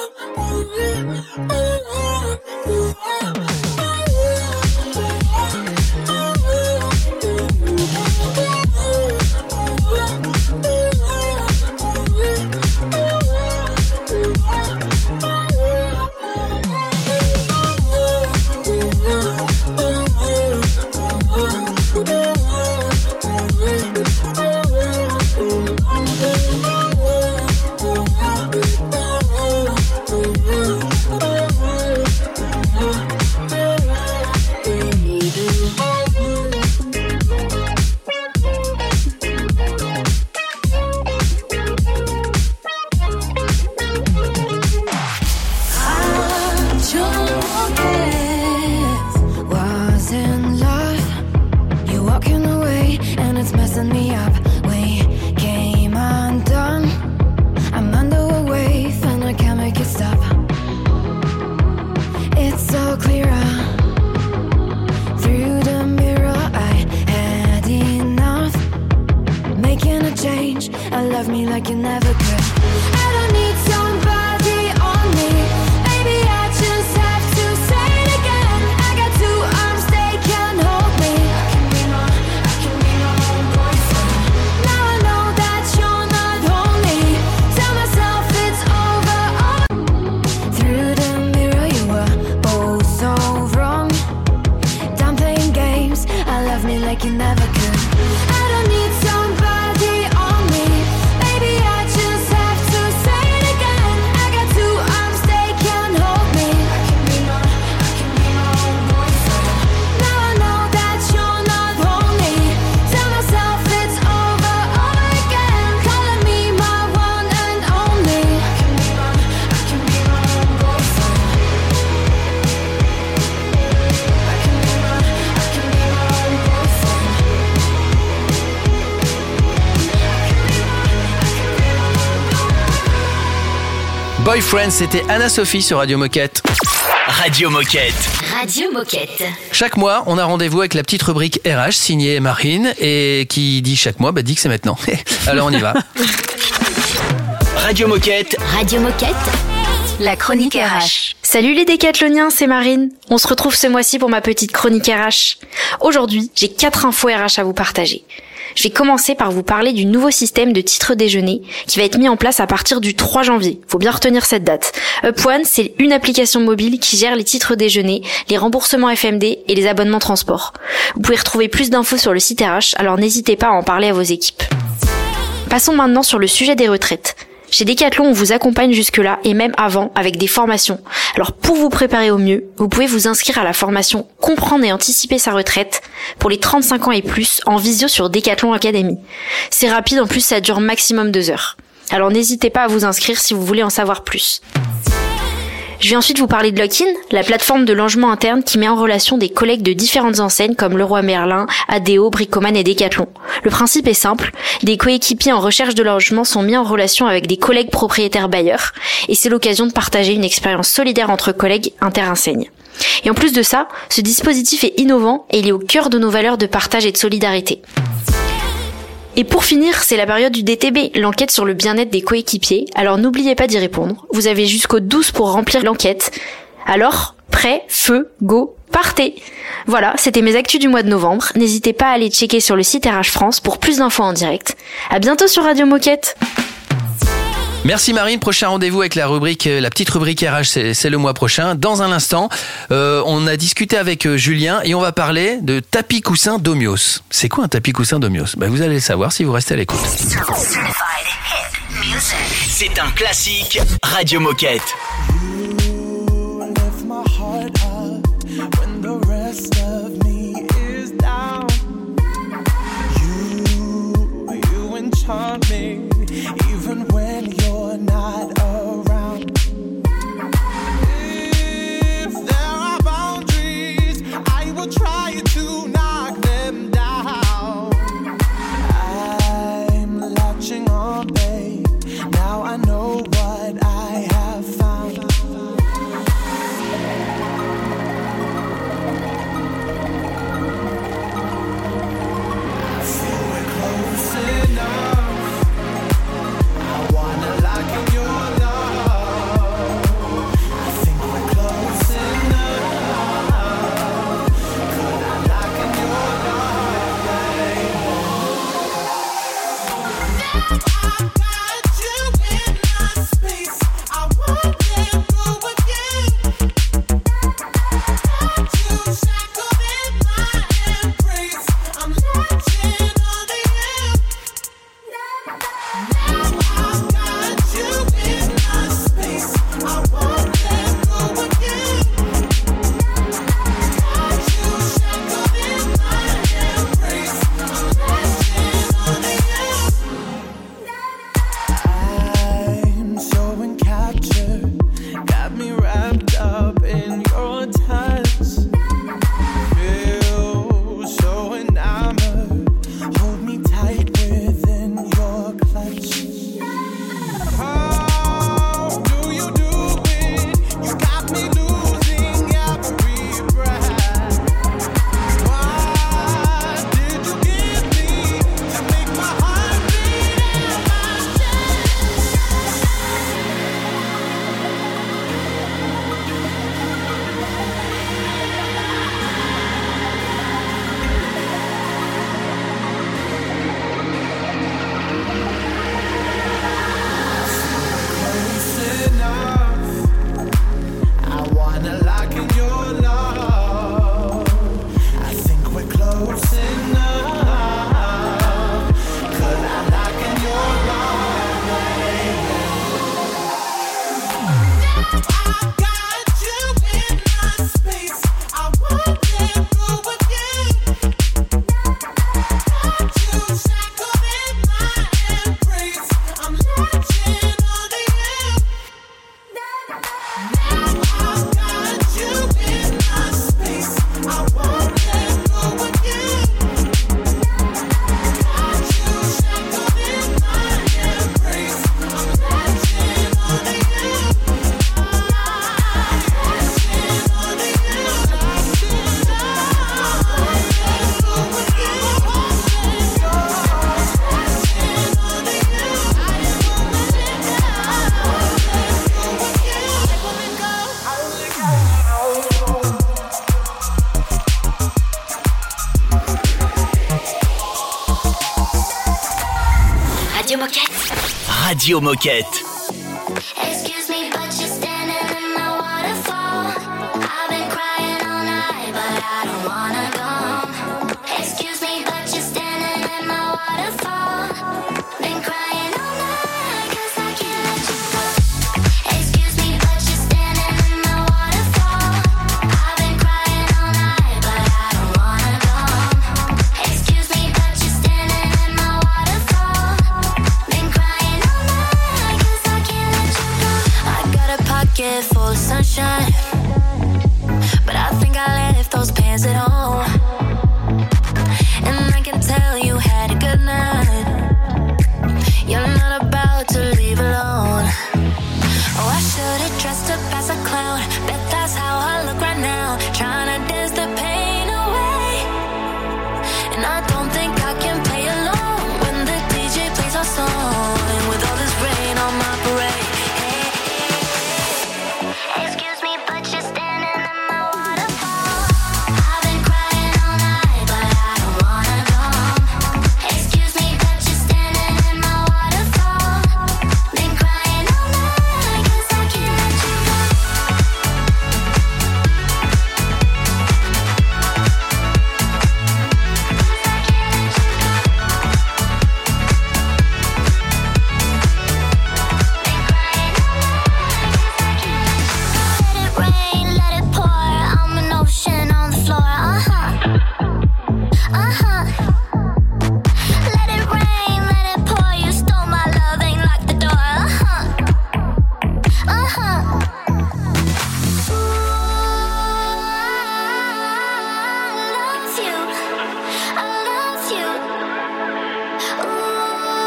[SPEAKER 2] Boyfriend, c'était Anna-Sophie sur Radio Moquette.
[SPEAKER 5] Radio Moquette.
[SPEAKER 6] Radio Moquette.
[SPEAKER 2] Chaque mois, on a rendez-vous avec la petite rubrique R H signée Marine et qui dit chaque mois, bah dit que c'est maintenant. Alors on y va.
[SPEAKER 5] Radio Moquette.
[SPEAKER 6] Radio Moquette. La chronique R H.
[SPEAKER 12] Salut les décathloniens, c'est Marine. On se retrouve ce mois-ci pour ma petite chronique R H. Aujourd'hui, j'ai quatre infos R H à vous partager. Je vais commencer par vous parler du nouveau système de titre déjeuner qui va être mis en place à partir du trois janvier. Faut bien retenir cette date. UpOne, c'est une application mobile qui gère les titres déjeuner, les remboursements F M D et les abonnements transport. Vous pouvez retrouver plus d'infos sur le site R H, alors n'hésitez pas à en parler à vos équipes. Passons maintenant sur le sujet des retraites. Chez Decathlon, on vous accompagne jusque-là et même avant avec des formations. Alors pour vous préparer au mieux, vous pouvez vous inscrire à la formation Comprendre et anticiper sa retraite pour les trente-cinq ans et plus en visio sur Decathlon Academy. C'est rapide, en plus ça dure maximum deux heures. Alors n'hésitez pas à vous inscrire si vous voulez en savoir plus. Je vais ensuite vous parler de Lock-in, la plateforme de logement interne qui met en relation des collègues de différentes enseignes comme Leroy Merlin, Adeo, Bricoman et Decathlon. Le principe est simple, des coéquipiers en recherche de logement sont mis en relation avec des collègues propriétaires bailleurs et c'est l'occasion de partager une expérience solidaire entre collègues inter-enseignes. Et en plus de ça, ce dispositif est innovant et il est au cœur de nos valeurs de partage et de solidarité. Et pour finir, c'est la période du D T B, l'enquête sur le bien-être des coéquipiers. Alors n'oubliez pas d'y répondre. Vous avez jusqu'au douze pour remplir l'enquête. Alors, prêt, feu, go, partez! Voilà, c'était mes actus du mois de novembre. N'hésitez pas à aller checker sur le site R H France pour plus d'infos en direct. À bientôt sur Radio Moquette!
[SPEAKER 2] Merci Marine, prochain rendez-vous avec la rubrique, la petite rubrique R H, c'est, c'est le mois prochain. Dans un instant, euh, on a discuté avec euh, Julien et on va parler de tapis coussin Domios. C'est quoi un tapis coussin Domios? Ben, vous allez le savoir si vous restez à l'écoute.
[SPEAKER 5] C'est un classique Radio Moquette.
[SPEAKER 10] Even when you're not around. If there are boundaries, I will try to knock them down. I'm latching on, babe. Now I know what I have found. I feel we're close enough.
[SPEAKER 6] Moquette.
[SPEAKER 5] Radio Moquette.
[SPEAKER 9] Excuse me, but you're standing in my waterfall. I've been crying all night, but I don't wanna go home. Excuse me, but you're standing in my waterfall. Been crying all night, 'cause I can't let you go. Excuse me, but you're standing in my waterfall. I've been crying all night, but I don't wanna go home. Excuse me, but you're standing in my waterfall. Been crying all night, 'cause I can't let you go. I got a pocket full of sunshine, but I think I left those pants at home. And I can tell you had a good night. You're not about to leave alone. Oh, I should've dressed up as a clown. Bet that's how I look right now. Trying to dance the pain away. And I don't think I can play alone when the D J plays our song. And with all this rain on my parade. Excuse me, but you're standing in my waterfall. I've been crying all night, but I don't wanna go home. Excuse me, but you're standing in my waterfall. Been crying all night, 'cause I can't let you go. Let it rain, let it pour. I'm an ocean on the floor. Uh-huh. Uh-huh. Let it rain, let it pour. You stole my love, ain't locked the door. Uh-huh. Uh-huh. Ooh, I love you. I love you. Ooh,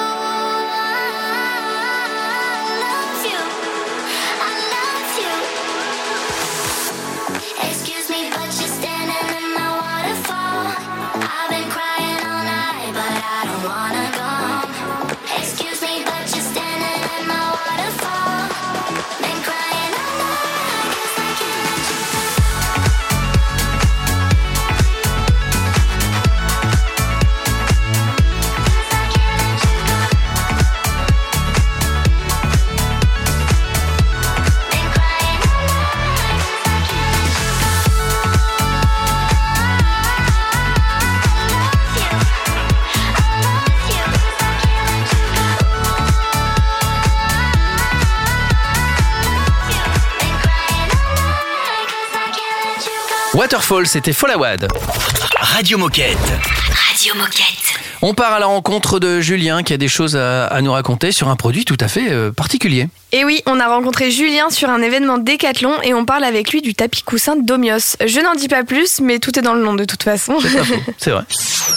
[SPEAKER 9] I love you. I love you. Excuse me, but you're standing in my waterfall. I've been crying all night, but I don't wanna go home. Excuse me, but you're standing in my waterfall. Been crying all night, 'cause I can't let you go.
[SPEAKER 2] Waterfall, c'était Folawad.
[SPEAKER 5] Radio Moquette.
[SPEAKER 6] Radio Moquette.
[SPEAKER 2] On part à la rencontre de Julien qui a des choses à, à nous raconter sur un produit tout à fait euh, particulier.
[SPEAKER 3] Et oui, on a rencontré Julien sur un événement Décathlon et on parle avec lui du tapis coussin Domios. Je n'en dis pas plus, mais tout est dans le nom de toute façon.
[SPEAKER 2] C'est pas faux, c'est vrai.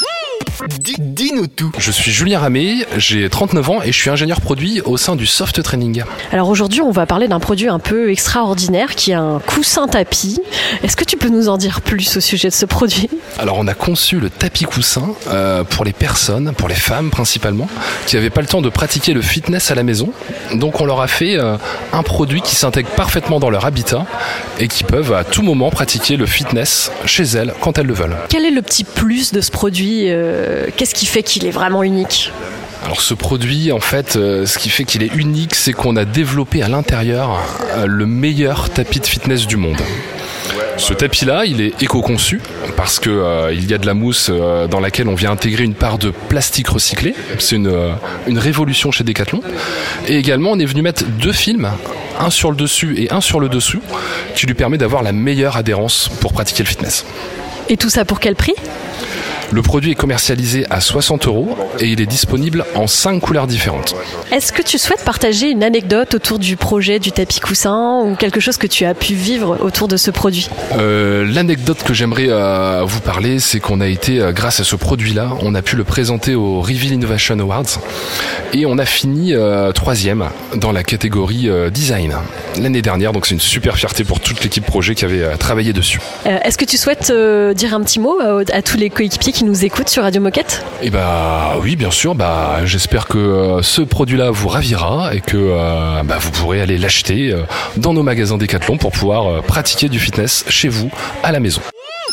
[SPEAKER 5] Dis- Dis-nous tout.
[SPEAKER 13] Je suis Julien Ramé, j'ai trente-neuf ans et je suis ingénieur produit au sein du Soft Training.
[SPEAKER 14] Alors aujourd'hui, on va parler d'un produit un peu extraordinaire qui est un coussin tapis. Est-ce que tu peux nous en dire plus au sujet de ce produit ?
[SPEAKER 13] Alors on a conçu le tapis coussin euh, pour les personnes, pour les femmes principalement, qui n'avaient pas le temps de pratiquer le fitness à la maison. Donc on leur a fait euh, un produit qui s'intègre parfaitement dans leur habitat et qui peuvent à tout moment pratiquer le fitness chez elles quand elles le veulent.
[SPEAKER 14] Quel est le petit plus de ce produit ? euh, Qu'est-ce qui fait qu'il est vraiment unique ?
[SPEAKER 13] Alors ce produit, en fait, euh, ce qui fait qu'il est unique, c'est qu'on a développé à l'intérieur euh, le meilleur tapis de fitness du monde. Ce tapis-là, il est éco-conçu parce que euh, il y a de la mousse euh, dans laquelle on vient intégrer une part de plastique recyclé. C'est une, euh, une révolution chez Decathlon. Et également, on est venu mettre deux films, un sur le dessus et un sur le dessous, qui lui permet d'avoir la meilleure adhérence pour pratiquer le fitness.
[SPEAKER 14] Et tout ça pour quel prix ?
[SPEAKER 13] Le produit est commercialisé à soixante euros et il est disponible en cinq couleurs différentes.
[SPEAKER 14] Est-ce que tu souhaites partager une anecdote autour du projet du tapis coussin ou quelque chose que tu as pu vivre autour de ce produit ?
[SPEAKER 13] Euh, l'anecdote que j'aimerais euh, vous parler, c'est qu'on a été, euh, grâce à ce produit-là, on a pu le présenter au Reveal Innovation Awards et on a fini euh, troisième dans la catégorie euh, design l'année dernière. Donc c'est une super fierté pour toute l'équipe projet qui avait euh, travaillé dessus.
[SPEAKER 14] Euh, est-ce que tu souhaites euh, dire un petit mot euh, à tous les coéquipiers qui nous écoutent sur Radio Moquette ?
[SPEAKER 13] Et bah oui, bien sûr. Bah j'espère que euh, ce produit-là vous ravira et que euh, bah, vous pourrez aller l'acheter euh, dans nos magasins Decathlon pour pouvoir euh, pratiquer du fitness chez vous à la maison.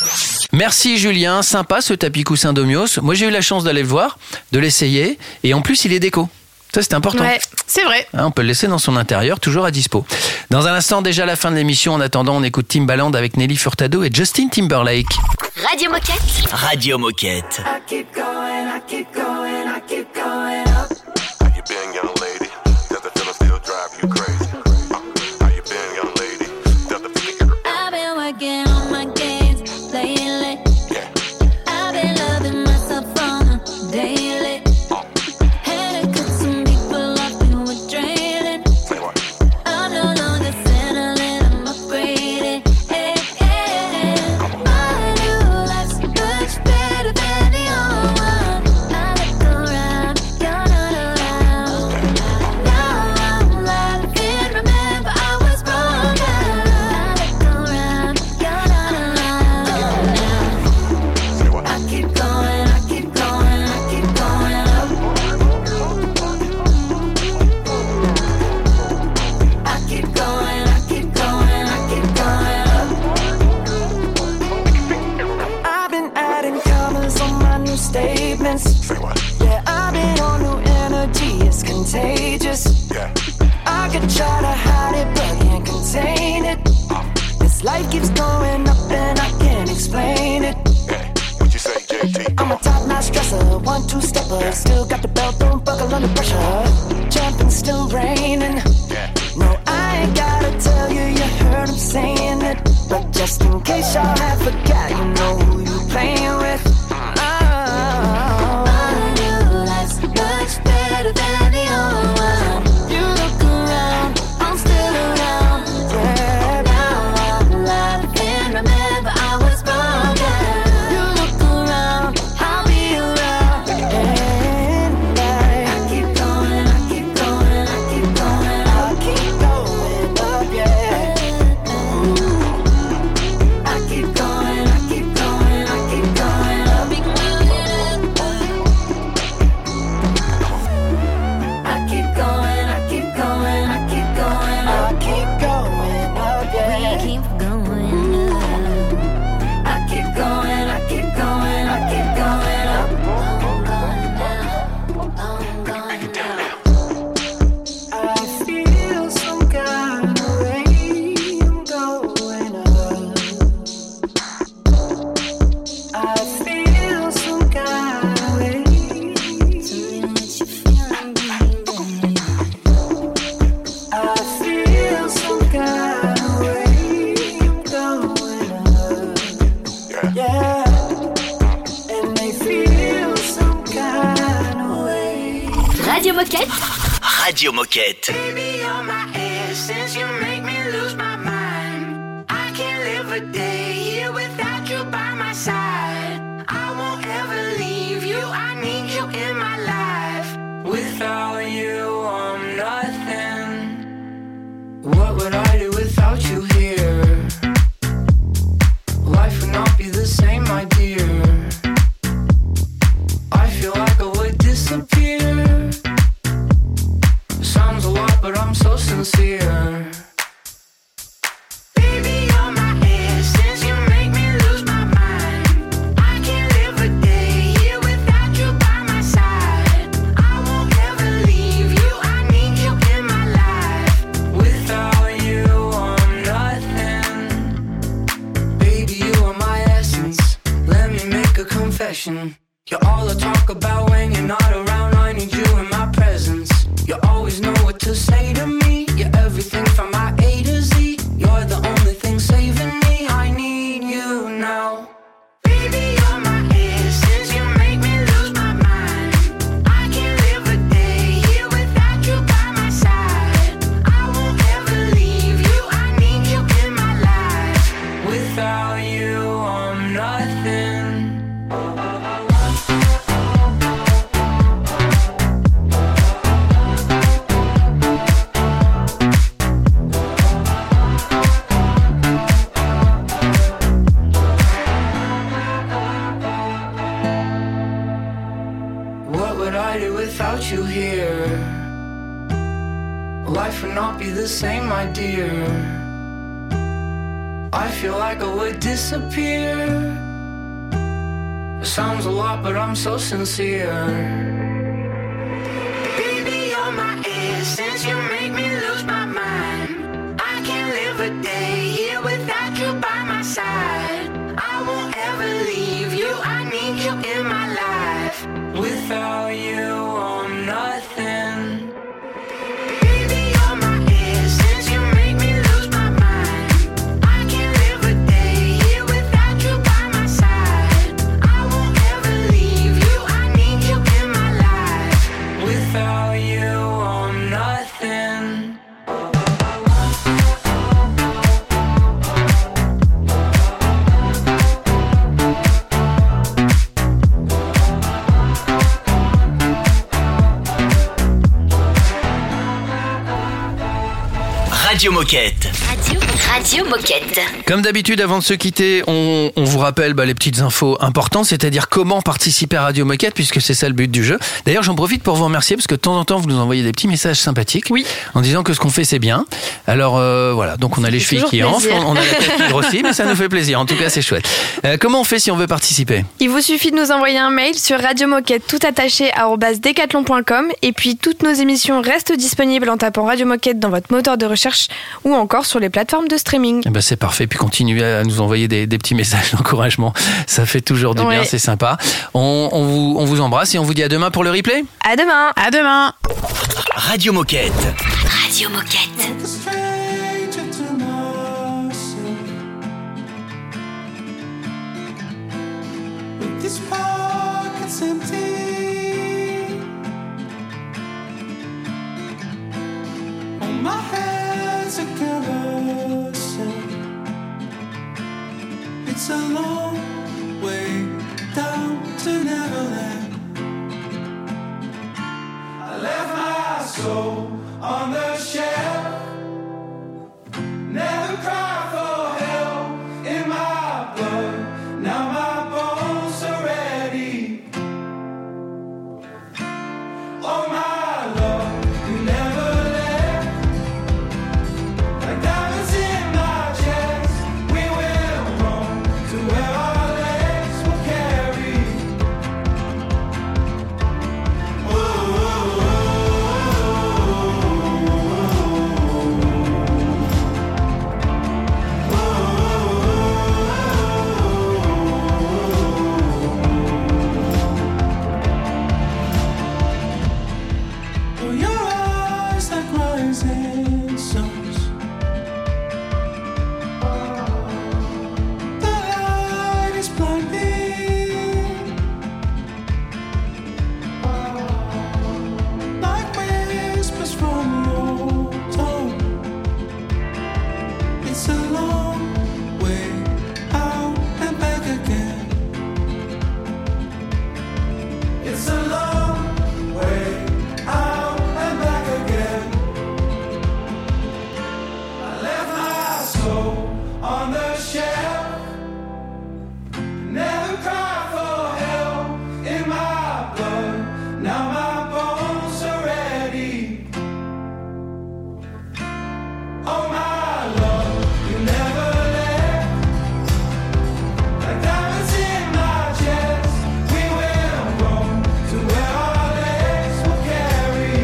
[SPEAKER 2] Merci Julien, sympa ce tapis coussin Domios. Moi j'ai eu la chance d'aller le voir, de l'essayer et en plus il est déco. Ça, c'est important.
[SPEAKER 4] Ouais, c'est vrai.
[SPEAKER 2] Hein, on peut le laisser dans son intérieur, toujours à dispo. Dans un instant, déjà la fin de l'émission. En attendant, on écoute Timbaland avec Nelly Furtado et Justin Timberlake.
[SPEAKER 6] Radio Moquette.
[SPEAKER 5] Radio Moquette.
[SPEAKER 10] I keep going, I keep going, I keep going up.
[SPEAKER 15] How you been, young lady? Does the feeling still drive you crazy? Uh, how you been, young lady? Does the feeling...
[SPEAKER 16] I've been working on my games lately. I've been loving myself on a daily. Had to cut some people off who were draining. I'm no longer settling, I'm upgrading. Hey, hey, hey. My new life's much better than the old one. I look around, you're not around. Now I'm laughing, remember I was wrong. I look around, you're not around. I keep going, I keep going, I keep going up. I keep going, I keep going, I keep going up.
[SPEAKER 10] I've been adding commas on my new statements. Yeah, I've been on new energy, it's contagious. I could try to hide it, but can't contain it. This life keeps going up and I can't explain it.
[SPEAKER 15] What you say, J T?
[SPEAKER 10] I'm a top-notch stresser, one-two-stepper. Still got the belt, don't buckle under pressure. Jumping, still raining. No, I ain't gotta tell you, you heard him saying it. But just in case y'all have forgot, you know who you playing with. Oh,
[SPEAKER 16] My new life's much better than the old one. You look around, I'm still around.
[SPEAKER 10] yeah.
[SPEAKER 16] Now I'm laughing, remember I was wrong.
[SPEAKER 10] You look around, I'll be around. And I,
[SPEAKER 16] I keep going, I keep going, I keep going
[SPEAKER 10] I
[SPEAKER 16] up.
[SPEAKER 10] keep going up, yeah.
[SPEAKER 16] I keep going, I keep going, I keep going up. I keep going, I keep going, I keep going
[SPEAKER 10] I
[SPEAKER 16] up.
[SPEAKER 10] keep going up, yeah.
[SPEAKER 16] We keep going up. I keep going, I keep going, I keep going up. I'm going down, I'm going down.
[SPEAKER 10] I feel some kind of way. I'm going up. I feel some kind of way. I feel some kind of way. I'm going up. Yeah. And they feel some kind of way.
[SPEAKER 6] Radio Moquette.
[SPEAKER 5] Radio Moquette.
[SPEAKER 10] Baby, you're my essence, you make me lose my mind. I can't live a day here without you by my side. I won't ever leave you, I need you in my life. Without you, I'm nothing. What would I do without you here? Life would not be the same, my dear. I feel like I would disappear. Sounds a lot, but I'm so sincere. Baby, you're my essence, you make me lose my mind. I can't live a day here without you by my side. I won't ever leave you, I need you in my life. Without you, I'm nothing. Baby, you are my essence. Let me make a confession. You're all I talk about when you're not around. I need you in my presence. You always know what to say to me. You're everything from my A to Z. You're the only thing saving me. I need you now. Baby, you're my essence. You make me lose my mind. I can't live a day here without you by my side. I won't ever leave you. I need you in my life. Without you, I'm nothing. What would I do without you here? Life would not be the same, my dear. I feel like I would disappear. It sounds a lot, but I'm so sincere. Baby, you're since you make me lose my mind. I can't live a day here without you by my side. I won't ever leave you, I need you in my life. Without you, I'm nothing. Baby, you're my air since you make me lose my mind. I can't live a day here without you by my side. I won't ever leave you, I need you in my life. Without you, I'm nothing.
[SPEAKER 5] Radio Moquette.
[SPEAKER 6] Radio, Radio Moquette.
[SPEAKER 2] Comme d'habitude, avant de se quitter, on, on vous rappelle bah, les petites infos importantes, c'est-à-dire comment participer à Radio Moquette, puisque c'est ça le but du jeu. D'ailleurs, j'en profite pour vous remercier, parce que de temps en temps, vous nous envoyez des petits messages sympathiques, oui, en disant que ce qu'on fait, c'est bien. Alors euh, voilà, donc on a les chevilles qui enflent, on a la tête qui grossit, mais ça nous fait plaisir. En tout cas, c'est chouette. Euh, comment on fait si on veut participer ?
[SPEAKER 3] Il vous suffit de nous envoyer un mail sur radiomoquette tout attaché arobase decathlon point com, et puis toutes nos émissions restent disponibles en tapant Radio Moquette dans votre moteur de recherche ou encore sur les plateformes de streaming.
[SPEAKER 2] Eh ben c'est parfait, puis continuez à nous envoyer des, des petits messages d'encouragement, ça fait toujours du ouais. bien, c'est sympa. On, on, vous, on vous embrasse et on vous dit à demain pour le replay.
[SPEAKER 3] À demain.
[SPEAKER 4] À demain.
[SPEAKER 5] Radio Moquette.
[SPEAKER 6] Radio Moquette.
[SPEAKER 10] These pockets empty. On my head's a carousel. It's a long way down to Neverland. I left my soul on the shelf. Never cried for help in my blood. Now my bones are ready. Oh my love, you never left. Like diamonds in my chest, we will roam to where our legs will carry. Ooh, ooh, oh, your eyes like rising suns. The light is blinding, like whispers from your tongue. It's a long way out and back again. It's a long way out and back again. I left my soul on the shelf. Never cried for help in my blood. Now my bones are ready. Oh my love, you never left. Like diamonds in my chest, we will roam to where our legs will carry.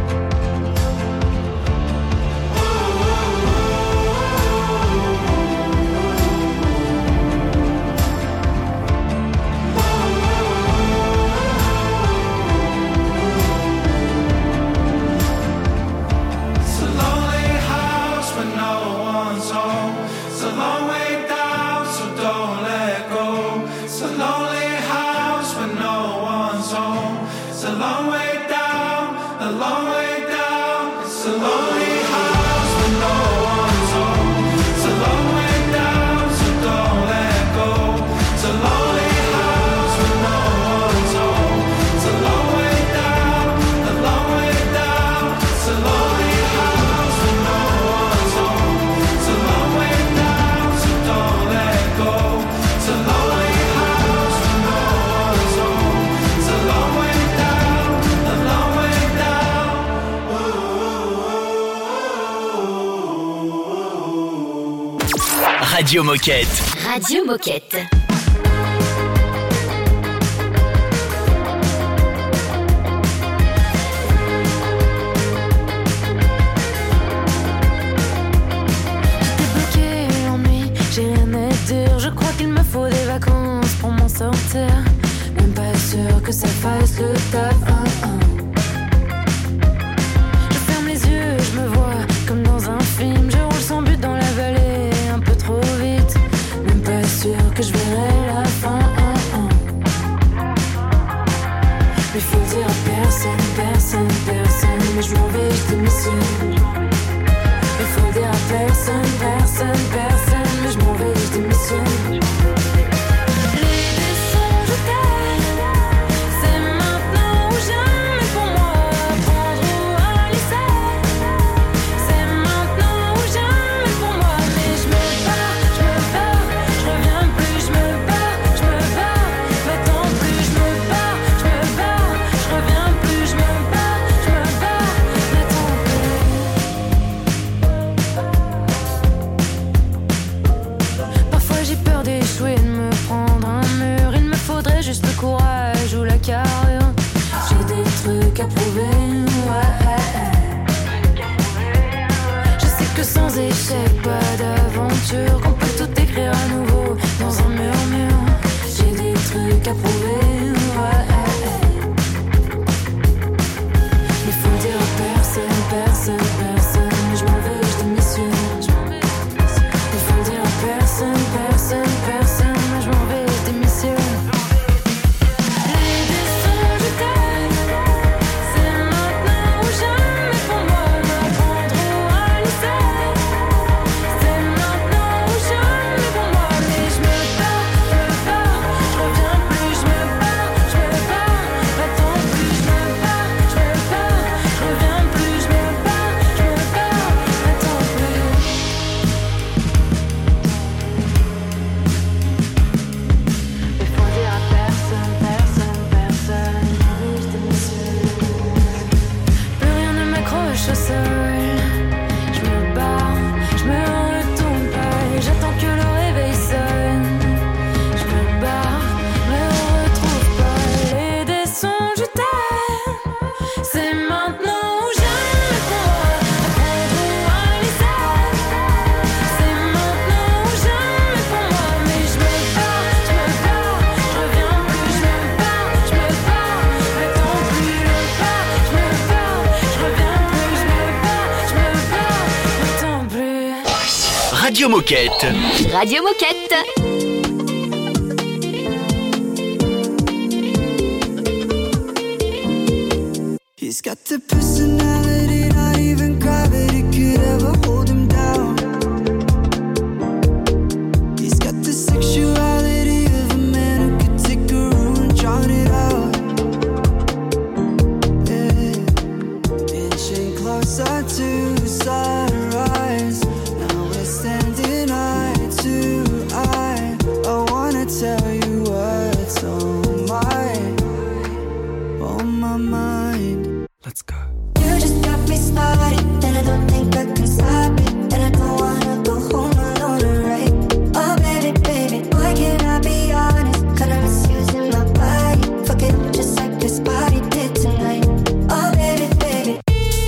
[SPEAKER 10] It's a lonely house when no one's home. It's a long way down, so don't let go. It's a lonely house when no one's home. It's a long way down, a long way down. It's a lonely house when no one's home. It's a long way down, so don't let go. It's a lonely house when no one's home. It's a long way down, a long way down. It's a lonely house when no one's home. It's a long way down, so don't let go. It's a lonely house when no one's home. It's a long way down, a long way down.
[SPEAKER 5] Radio Moquette.
[SPEAKER 6] Radio Moquette.
[SPEAKER 9] que ça fasse le taf. Hein, hein. Je ferme les yeux et je me vois comme dans un film. Je roule sans but dans la vallée, un peu trop vite. Même pas sûr que je verrai la fin. Hein, hein. Mais faut le dire à personne, personne, personne. Mais je m'en vais, je démissionne. Mais faut le dire à personne, personne, personne. Mais je m'en vais, je démissionne. Juste le courage ou la carrure. J'ai des trucs à prouver, ouais. Je sais que sans échec, pas d'aventure, qu'on peut tout écrire à nouveau dans un murmure. J'ai des trucs à prouver, ouais. Mais faut le dire à personne, personne, personne. Mais je m'en vais, je démissionne. Mais faut le dire à personne, personne, personne. Mais je m'en vais, je démissionne.
[SPEAKER 5] Radio Moquette.
[SPEAKER 6] Radio Moquette.
[SPEAKER 10] He's got the personality, not even gravity could ever hold him down. He's got the sexuality of a man who could take a room and drown it out. Yeah. Inching closer to sunrise. Now we're standing eye to eye. I wanna tell you what's on my, on my mind. Let's go.
[SPEAKER 16] You just got me started, and I don't think I can stop it. And I don't wanna go home alone, right? Oh baby, baby, why can't I be honest? Cause I'm misusing my body. Fuck it, just like this body did tonight. Oh baby, baby.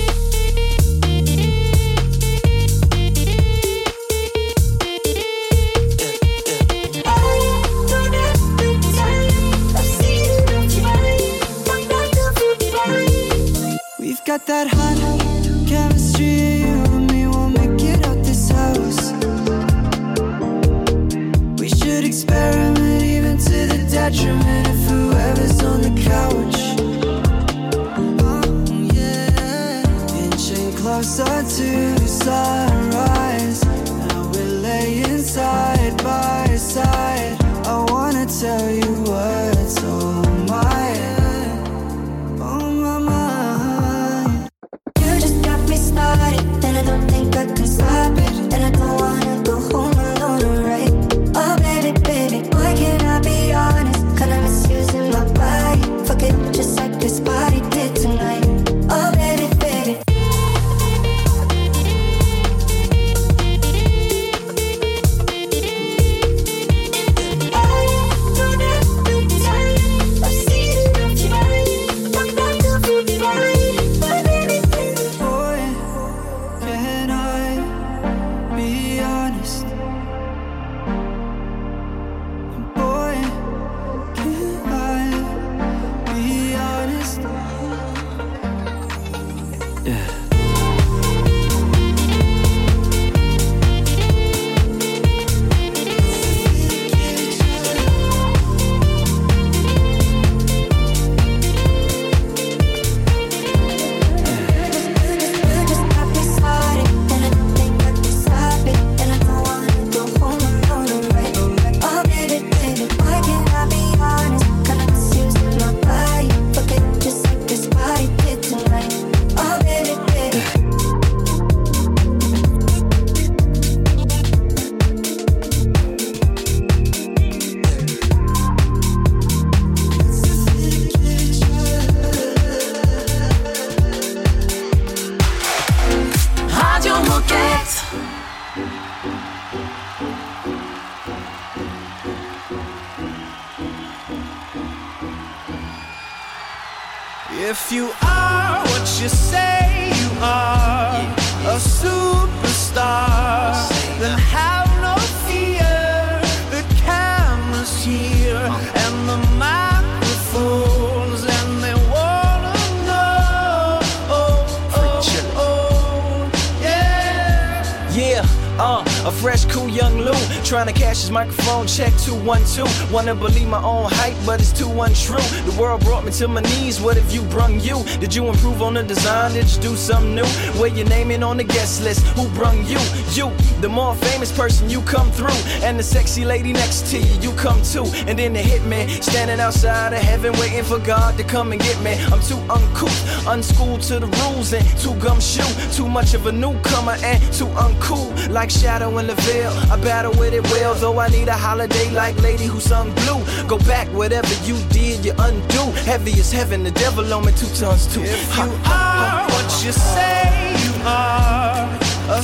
[SPEAKER 10] We've got that hot chemistry, you and me won't make it out this house. We should experiment even to the detriment of whoever's on the couch. Oh yeah, inching closer to sunrise. Now we're laying side by side. I wanna tell you what's on my, on my mind.
[SPEAKER 16] You just got me started, and I don't think I can stop it. And I don't wanna go home alone, right? Oh baby, baby, why can't I be honest? Cause I'm misusing my body. Fuck it, just like this body did tonight. Oh baby, baby.
[SPEAKER 10] If you are what you say you are, a superstar, then have no fear. The camera's here and the microphones, and they wanna know. Oh, oh, oh, yeah.
[SPEAKER 17] Yeah, uh, a fresh, cool young Lou, trying to cash his microphone check two one two. Wanna believe my own hype, but it's too untrue. The world brought me to my knees, what have you brung you? Did you improve on the design, did you do something new? Where your name in on the guest list, who brung you? You, the more famous person, you come through. And the sexy lady next to you, you come too. And then the hitman, standing outside of heaven, waiting for God to come and get me. I'm too uncouth, unschooled to the rules, and too gumshoe. Too much of a newcomer and too uncool, like Shadow in the Veil. I battle with it well, though I need a holiday like Lady who sung Blue. Go back, whatever you did, you undo. Heavy as heaven, the devil on me two tons too.
[SPEAKER 10] If you are what you say you are, a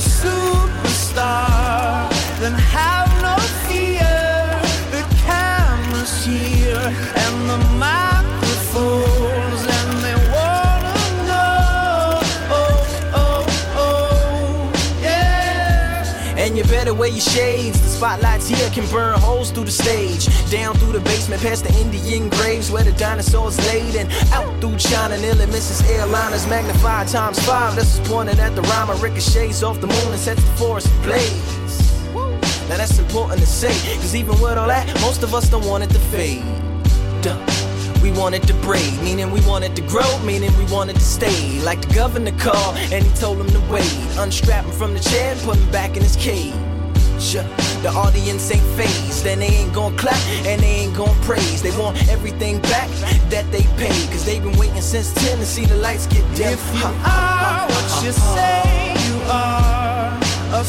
[SPEAKER 10] superstar, then have no fear. The camera's here and the microphones, and they wanna know. Oh, oh, oh, yeah.
[SPEAKER 17] And you better wear your shades. The spotlights here can burn holes through the stage. Down through the basement, past the Indian graves where the dinosaurs laid, and out through China, nearly misses airliners. Magnified times five, this is pointed at the rhyme. Ricochets off the moon and sets the forest ablaze. Now that's important to say, cause even with all that, most of us don't want it to fade. Duh. We want it to braid, meaning we want it to grow, meaning we want it to stay. Like the governor called and he told him to wait. Unstrap him from the chair and put him back in his cage. The audience ain't phased, and they ain't gon' clap, and they ain't gon' praise. They want everything back that they paid, cause they've been waiting since ten to see the lights get dim.
[SPEAKER 10] If you are what you say you are, a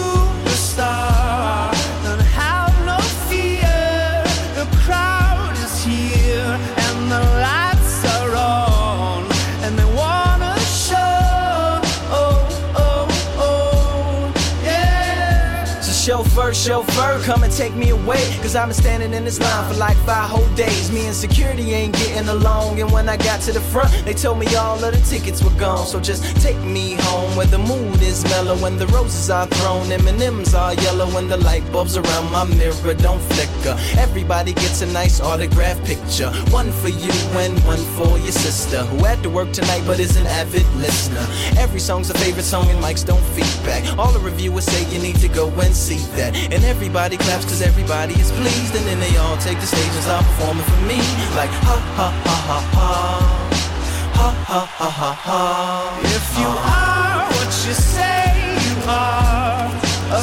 [SPEAKER 10] superstar, then have no fear. The crowd is here and the lights are on, and they wanna show. Oh, oh, oh, yeah.
[SPEAKER 17] So chauffeur, chauffeur, come and take me away, cause I've been standing in this line for like five whole days. Me and security ain't getting along, and when I got to the front, they told me all of the tickets were gone. So just take me home where the mood is mellow, when the roses are thrown, M and M's are yellow, when the light bulbs around my mirror don't flicker. Everybody gets a nice autograph picture, one for you and one for your sister, who had to work tonight but is an avid listener. Every song's a favorite song and mics don't feedback. All the reviewers say you need to go and see that, and everybody claps cause everybody is pleased, and then they all take the stage and start performing for me, like ha ha ha ha ha, ha ha ha ha ha.
[SPEAKER 10] If you are what you say you are, a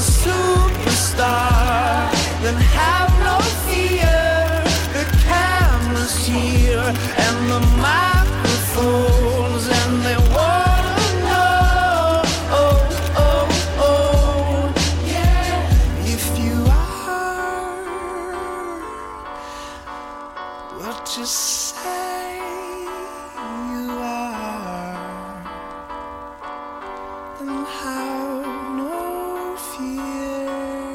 [SPEAKER 10] superstar, then have no fear. The camera's here and the microphones, and they wanna know. Oh, oh, oh, yeah. If you are what you say you are, then have no fear.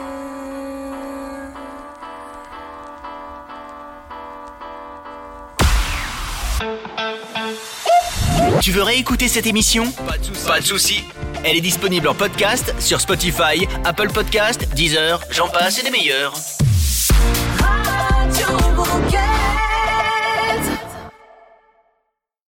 [SPEAKER 5] Tu veux réécouter cette émission ? Pas de souci. Elle est disponible en podcast sur Spotify, Apple Podcast, Deezer, j'en passe et des meilleurs.